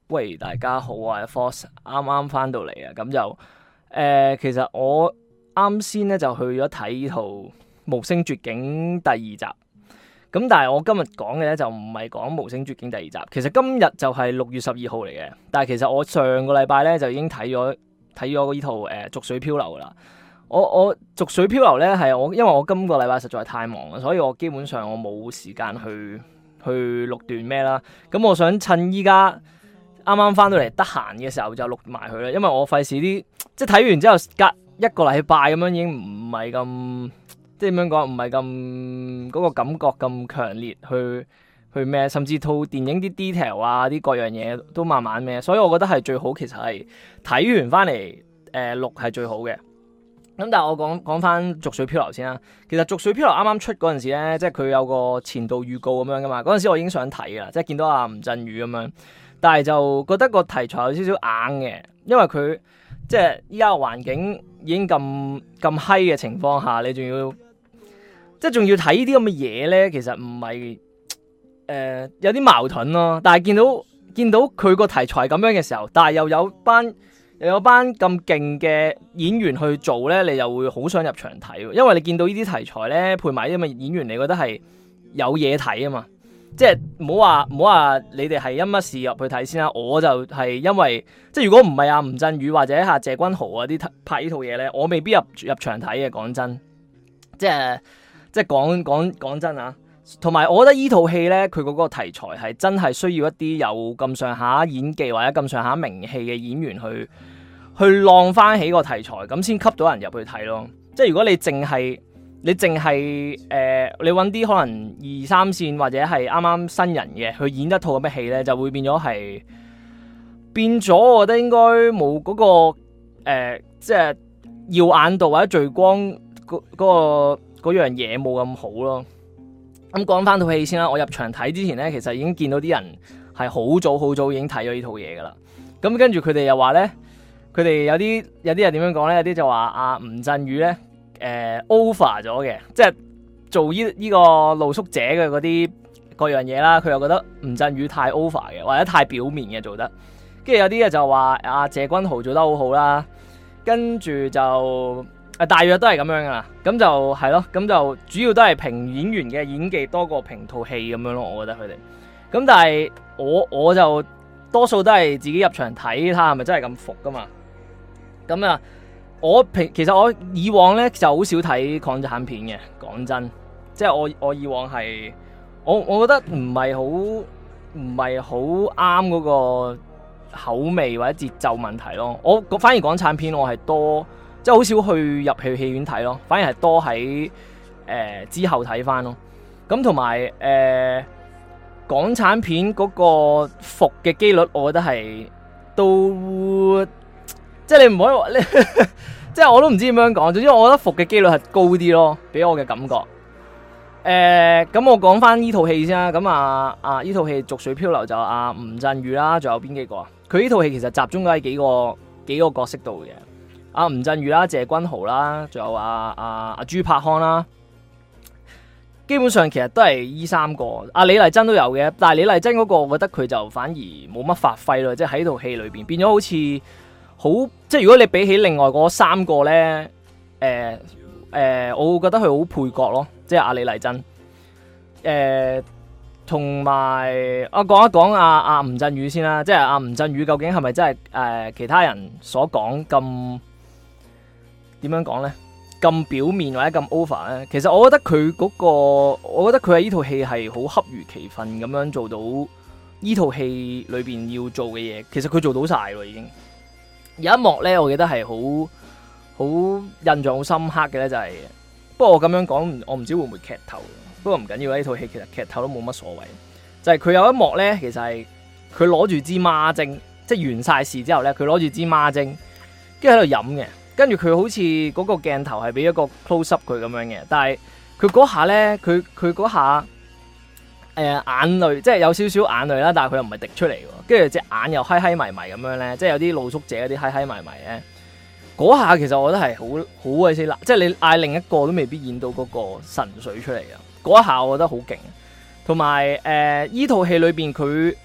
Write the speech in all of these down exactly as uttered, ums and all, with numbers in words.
喂，大家好啊，Force 啱啱翻到嚟啊，咁就誒、呃，其實我啱先咧就去咗睇呢套《無聲絕境》第二集，咁但係我今日講嘅咧就唔係講《無聲絕境》第二集，其實今日就係六月十二號嚟嘅，但係其實我上個禮拜咧就已經睇咗睇咗呢套誒《濁水漂流》噶啦。我我《濁水漂流》咧係我因為我今個禮拜實在太忙啦，所以我基本上我冇時間去去錄段咩啦，咁我想趁依家啱啱翻到嚟得閒嘅時候就錄埋佢啦，因為我費事啲即係睇完之後隔一個禮拜咁樣已經唔係咁即係點樣講，唔係咁嗰個感覺咁強烈去去咩，甚至套電影啲 detail 啊啲各樣嘢都慢慢咩，所以我覺得係最好其實係睇完翻嚟誒錄係最好嘅。咁但係我講講翻《濁水漂流》先啦，其實《濁水漂流》啱啱出嗰陣時咧，即係佢有個前導預告咁樣噶嘛，嗰陣時我已經想睇噶啦，即係見到阿吳鎮宇咁樣。但係就覺得個題材有少少硬嘅，因為佢即係依家個環境已經咁咁閪嘅情況下，你仲要即係仲要睇呢啲咁嘅嘢咧，其實唔係誒有啲矛盾咯。但係見到見到佢個題材咁樣嘅時候，但係又有班又有班咁勁嘅演員去做咧，你又會好想入場睇，因為你見到呢啲題材咧配埋啲咁嘅演員，你覺得係有嘢睇啊嘛。即係唔好話唔好話你哋係因乜事入去睇先啦，我就係因為即係如果唔係阿吳鎮宇或者阿謝君豪啊啲拍呢套嘢咧，我未必入入場睇嘅。講真，即係即係講講講真啊，同埋我覺得呢套戲咧，佢嗰個題材係真係需要一啲有咁上下演技或者咁上下名氣嘅演員去去浪翻起個題材，咁先吸到人入去睇咯。即係如果你淨係你淨係誒，你揾啲可能二三線或者係啱啱新人嘅去演一套咁嘅戲咧，就會變咗係變咗。我覺得應該冇嗰個誒，即係耀眼度或者聚光嗰嗰個嗰樣嘢冇咁好咯。咁講翻套戲先啦，我入場睇之前咧，其實已經見到啲人係好早好早已經睇咗呢套嘢噶啦。咁跟住佢哋又話咧，佢哋有啲有啲人點樣講咧？有啲就話阿吳鎮宇咧。誒、呃、over 咗嘅，即係做呢呢個露宿者嘅嗰啲各樣嘢啦，佢又覺得吳鎮宇太 over 嘅，或者太表面嘅做得，跟住有啲嘢就話阿謝君豪做得好好啦，跟住就誒、呃、大約都係咁樣噶啦，咁就係咯，咁就主要都係評演員嘅演技多過評套戲咁樣咯，我覺得佢哋，咁但係我我就多數都係自己入場睇，睇下係咪真係咁服噶嘛，咁啊。我平其實我以往咧就好少睇港產片嘅，講真，即係我我以往係我我覺得唔係好唔係好啱嗰個口味或者節奏問題咯。我反而港產片我係多即係好少去入去戲院睇咯，反而係多喺誒、呃、之後睇翻咯。咁同埋誒港產片嗰個服嘅機率，我覺得係都。即係你唔可以話，你即係我都唔知點樣講。總之我覺得服嘅機率係高啲咯，俾我嘅感覺。誒、呃，咁我講翻呢套戲先啦。咁啊啊，呢套戲《濁水漂流》就阿吳鎮宇啦，仲有邊幾個啊？佢呢套戲其實集中咗喺幾個幾個角色度嘅。阿吳鎮宇啦、謝君豪啦，仲有阿阿阿朱柏康啦。基本上其實都係依三個。阿李麗珍都有嘅，但係李麗珍嗰個，我覺得佢就反而冇乜發揮咯。即係喺套戲裏邊變咗好似。好即係如果你比起另外嗰三個咧，誒、呃、誒、呃，我會覺得佢好配角咯，即係阿李麗珍，誒同埋我講一講阿阿吳鎮宇先啦，即係阿吳鎮宇究竟係咪真係誒、呃、其他人所講咁點樣講咧？咁表面或者咁 over 咧？其實我覺得佢嗰、嗰個，我覺得佢喺呢套戲係好恰如其分咁樣做到呢套戲裏邊要做嘅嘢，其實佢做到晒咯已經。有一幕咧，我記得係好好印象好深刻嘅咧，就係、是、不過我咁樣講，我唔知會唔會劇透。不過唔緊要，呢套戲其實劇透都冇乜所謂。就係、是、佢有一幕咧，其實係佢攞住支孖精，即係完晒事之後咧，佢攞住支孖精，跟住喺度飲嘅。跟住佢好似嗰個鏡頭係俾一個 close up 佢咁樣嘅，但係佢嗰下咧，佢佢嗰下誒、呃、眼淚，即係有少少眼淚啦，但係佢又唔係滴出嚟喎。跟住隻眼又閪閪迷迷咁樣咧，即係有啲露宿者嗰啲閪閪迷迷咧。嗰下其實我覺得係好好鬼死辣，即係你嗌另一個都未必演到嗰個神水出嚟嘅。嗰一下我覺得好勁。同埋誒依套戲裏邊佢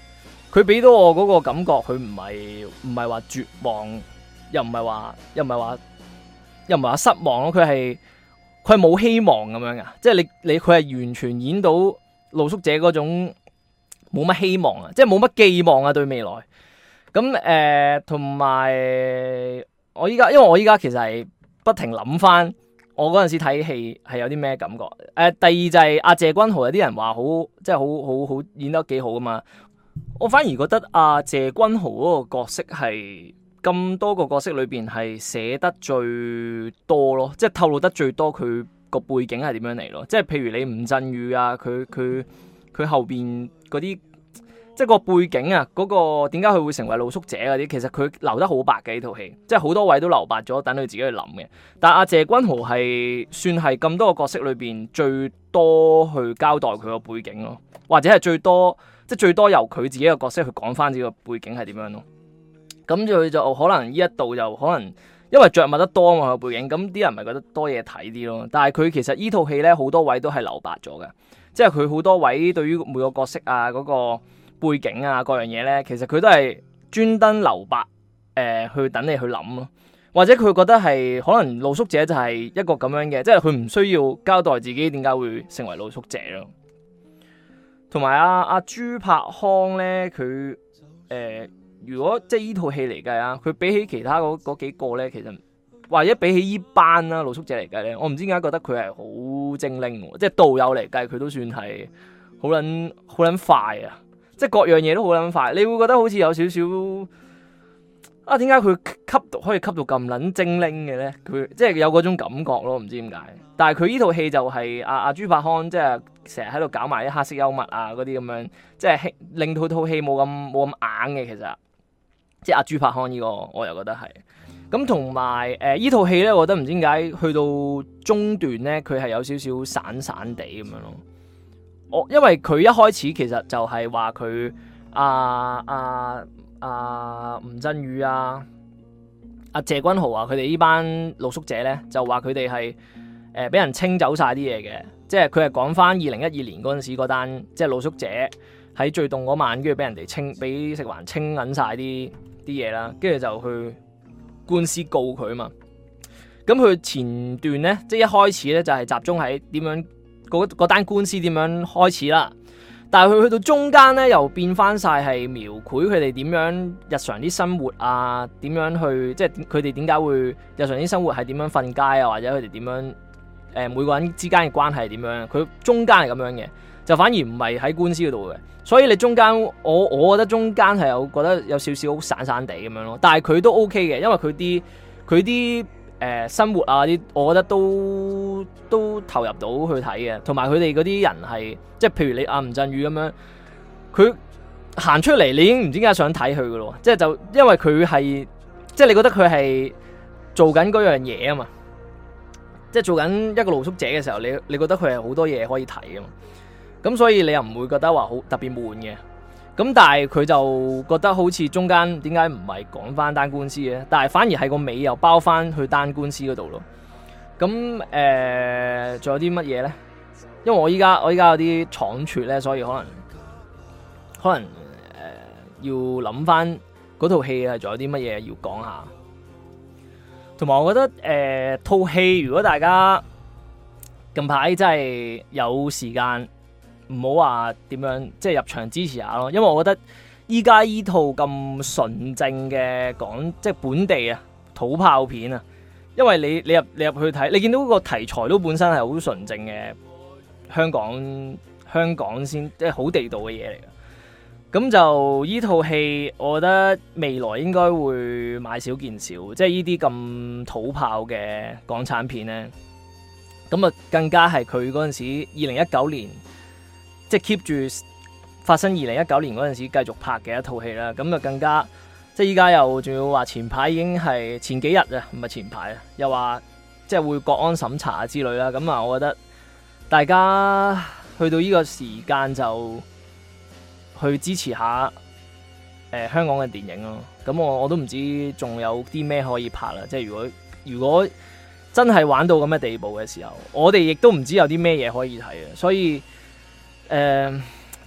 佢俾到我嗰個感覺，佢唔係唔係話絕望，又唔係話又唔係話又唔係話失望咯。佢係佢係冇希望咁樣噶，即係你你佢係完全演到露宿者嗰種冇乜希望啊，即係冇乜寄望啊對未來。咁誒同埋我依家，因為我依家其實係不停諗翻我嗰陣時睇戲係有啲咩感覺。誒、呃、第二就係阿謝君豪，有啲人話好即係好好好演得幾好噶嘛。我反而覺得阿謝君豪嗰個角色係咁多個角色裏邊係寫得最多咯，即係透露得最多佢個背景係點樣嚟咯。即係譬如你吳鎮宇啊，佢佢佢後邊嗰啲即係個背景啊，嗰、嗰個點解佢會成為露宿者嗰啲，其實佢留得好白嘅呢套戲，即係好多位都留白咗，等佢自己去諗嘅。但係阿謝君豪係算係咁多個角色裏邊最多去交代佢個背景咯，或者係最多。即係最多由佢自己嘅角色去講翻自己個背景係點樣咯，咁佢就可能呢一度就可能因為着墨得多啊嘛個背景，咁啲人咪覺得多嘢睇啲咯。但係佢其實呢套戲咧好多位都係留白咗嘅，即係佢好多位對於每個角色啊嗰個背景啊各樣嘢咧，其實佢都係專登留白誒、呃、去等你去諗咯，或者佢覺得係可能露宿者就係一個咁樣嘅，即係佢唔需要交代自己點解會成為露宿者咯。同埋阿阿朱柏康咧，佢誒、呃、如果即係依套戲嚟計啊，佢比起其他嗰嗰幾個咧，其實或者比起依班啦露宿者嚟計咧，我唔知點解覺得佢係好精靈喎，即係導遊嚟計佢都算係好撚好撚快啊！即係各樣嘢都好撚快，你會覺得好似有少少啊，點解佢吸到可以吸到咁撚精靈嘅咧？佢即係有嗰種感覺咯，唔知點解。但係佢依套戲就係阿阿朱柏康，即係成日喺度搞埋啲黑色幽默啊嗰啲咁樣，即係令到套戲冇咁冇咁硬嘅。其實即係阿朱柏康呢個，我又覺得係咁。同埋誒依套戲咧，我覺得唔知點解去到中段咧，佢係有少少散散地咁樣咯。我因為佢一開始其實就係話佢阿阿阿吳鎮宇啊、阿謝君豪啊，佢哋呢班露宿者咧，就話佢哋係誒俾人清走晒啲嘢嘅，即係佢係講翻二零一二年嗰陣時嗰單，即係露宿者喺最凍嗰晚，跟住俾人哋清，俾食環清緊晒啲啲嘢啦，跟住就去官司告佢啊嘛。咁佢前段咧，即係一開始咧就係集中喺點樣嗰嗰單官司點樣開始啦。但係佢去到中間咧，又變翻晒係描繪佢哋點樣日常啲生活啊，點樣去即係佢哋點解會日常啲生活係點樣瞓街啊，或者佢哋點樣誒、呃、每個人之間嘅關係係點樣？佢中間係咁樣嘅，就反而唔係喺官司嗰度嘅。所以你中間我我覺得中間係有覺得有少少好散散地咁樣咯。但係佢都 OK 嘅，因為佢啲佢啲誒生活啊啲，我覺得都都投入到去睇嘅。同埋佢哋嗰啲人係即係譬如你阿吳鎮宇咁樣，佢行出嚟你已經唔知點解想睇佢噶咯，即係就因為佢係即係你覺得佢係做緊嗰樣嘢啊嘛，即係做緊一個露宿者嘅時候，你你覺得佢係好多嘢可以睇啊嘛，咁所以你又唔會覺得話好特別悶嘅。咁但係佢就覺得好似中間點解唔係講翻單官司嘅，但係反而係個尾又包翻去單官司嗰度咯。咁誒仲有啲乜嘢咧？因為我依家我依家有啲倉促咧，所以可能可能誒、呃、要諗翻嗰套戲係仲有啲乜嘢要講下。同埋我覺得誒套戲如果大家近排真係有時間，唔好話點樣，即係入場支持下咯。因為我覺得依家依套咁純正嘅講，即係本地啊土炮片啊，因為你你入你入去睇，你見到個題材都本身係好純正嘅香港香港先，即係好地道嘅嘢嚟嘅。咁就依套戲，我覺得未來應該會買少見少，即係依啲咁土炮嘅港產片咧。咁啊，更加係佢嗰陣時二零一九年。即係 keep 住發生二零一九年嗰陣時繼續拍嘅一套戲啦，咁就更加即係依家又仲要話前排已經係前幾日啊，唔係前排啊，又話即係會國安審查之類啦，咁啊，我覺得大家去到呢個時間就去支持下誒、呃、香港嘅電影咯。咁我我都唔知仲有啲咩可以拍啦，即係如果如果真係玩到咁嘅地步嘅時候，我哋亦都唔知有啲咩嘢可以睇啊，所以。誒、呃，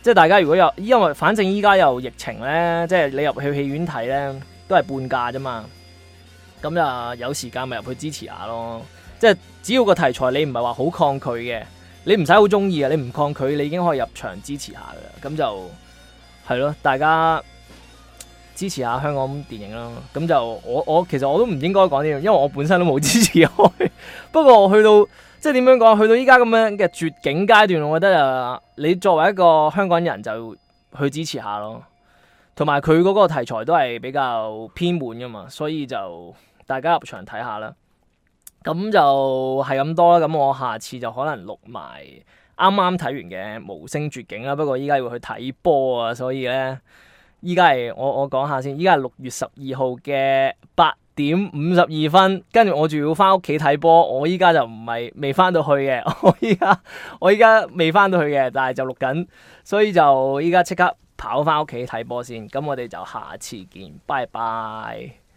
即係大家如果有，因為反正依家有疫情咧，即係你入去戲院睇咧都係半價啫嘛。咁啊有時間咪入去支持下咯。即係只要個題材你唔係話好抗拒嘅，你唔使好中意啊，你唔抗拒你已經可以入場支持下噶啦。咁就係咯，大家支持下香港電影啦。咁就我我其實我都唔應該講呢樣，因為我本身都冇支持開。不過我去到即係點樣講，去到依家咁樣嘅絕境階段，我覺得啊，你作為一個香港人就去支持下咯。同埋佢嗰個題材都係比較偏門噶嘛，所以就大家入場睇下啦。咁就係咁多啦。咁我下次就可能錄埋啱啱睇完嘅無聲絕境啦。不過依家要去睇波啊，所以咧依家係我我講下先。依家係六月十二號嘅八點五十二分，跟住我仲要翻屋企睇波。我依家就唔係未翻到去嘅，我依家我依家未翻到去嘅，但係就錄緊，所以就依家即刻跑翻屋企睇波先。咁我哋就下次見，拜拜。